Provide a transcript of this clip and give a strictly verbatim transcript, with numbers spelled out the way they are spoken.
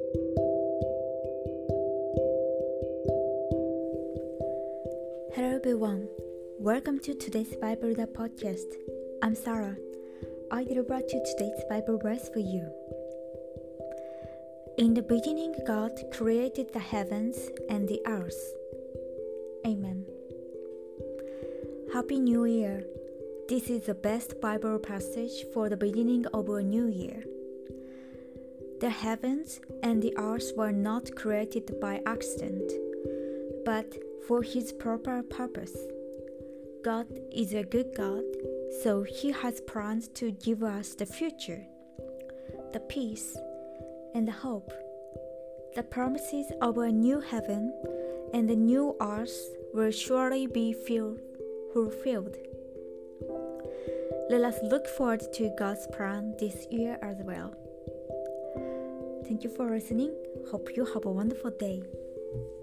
Hello everyone, welcome to today's Bible the podcast. I'm Sarah. I will brought you today's Bible verse for you. In the beginning, God created the heavens and the earth. Amen. Happy New Year! This is the best Bible passage for the beginning of a new year. The heavens and the earth were not created by accident, but for His proper purpose. God is a good God, so He has plans to give us the future, the peace, and the hope. The promises of a new heaven and a new earth will surely be fulfilled. Let us look forward to God's plan this year as well. Thank you for listening. Hope you have a wonderful day.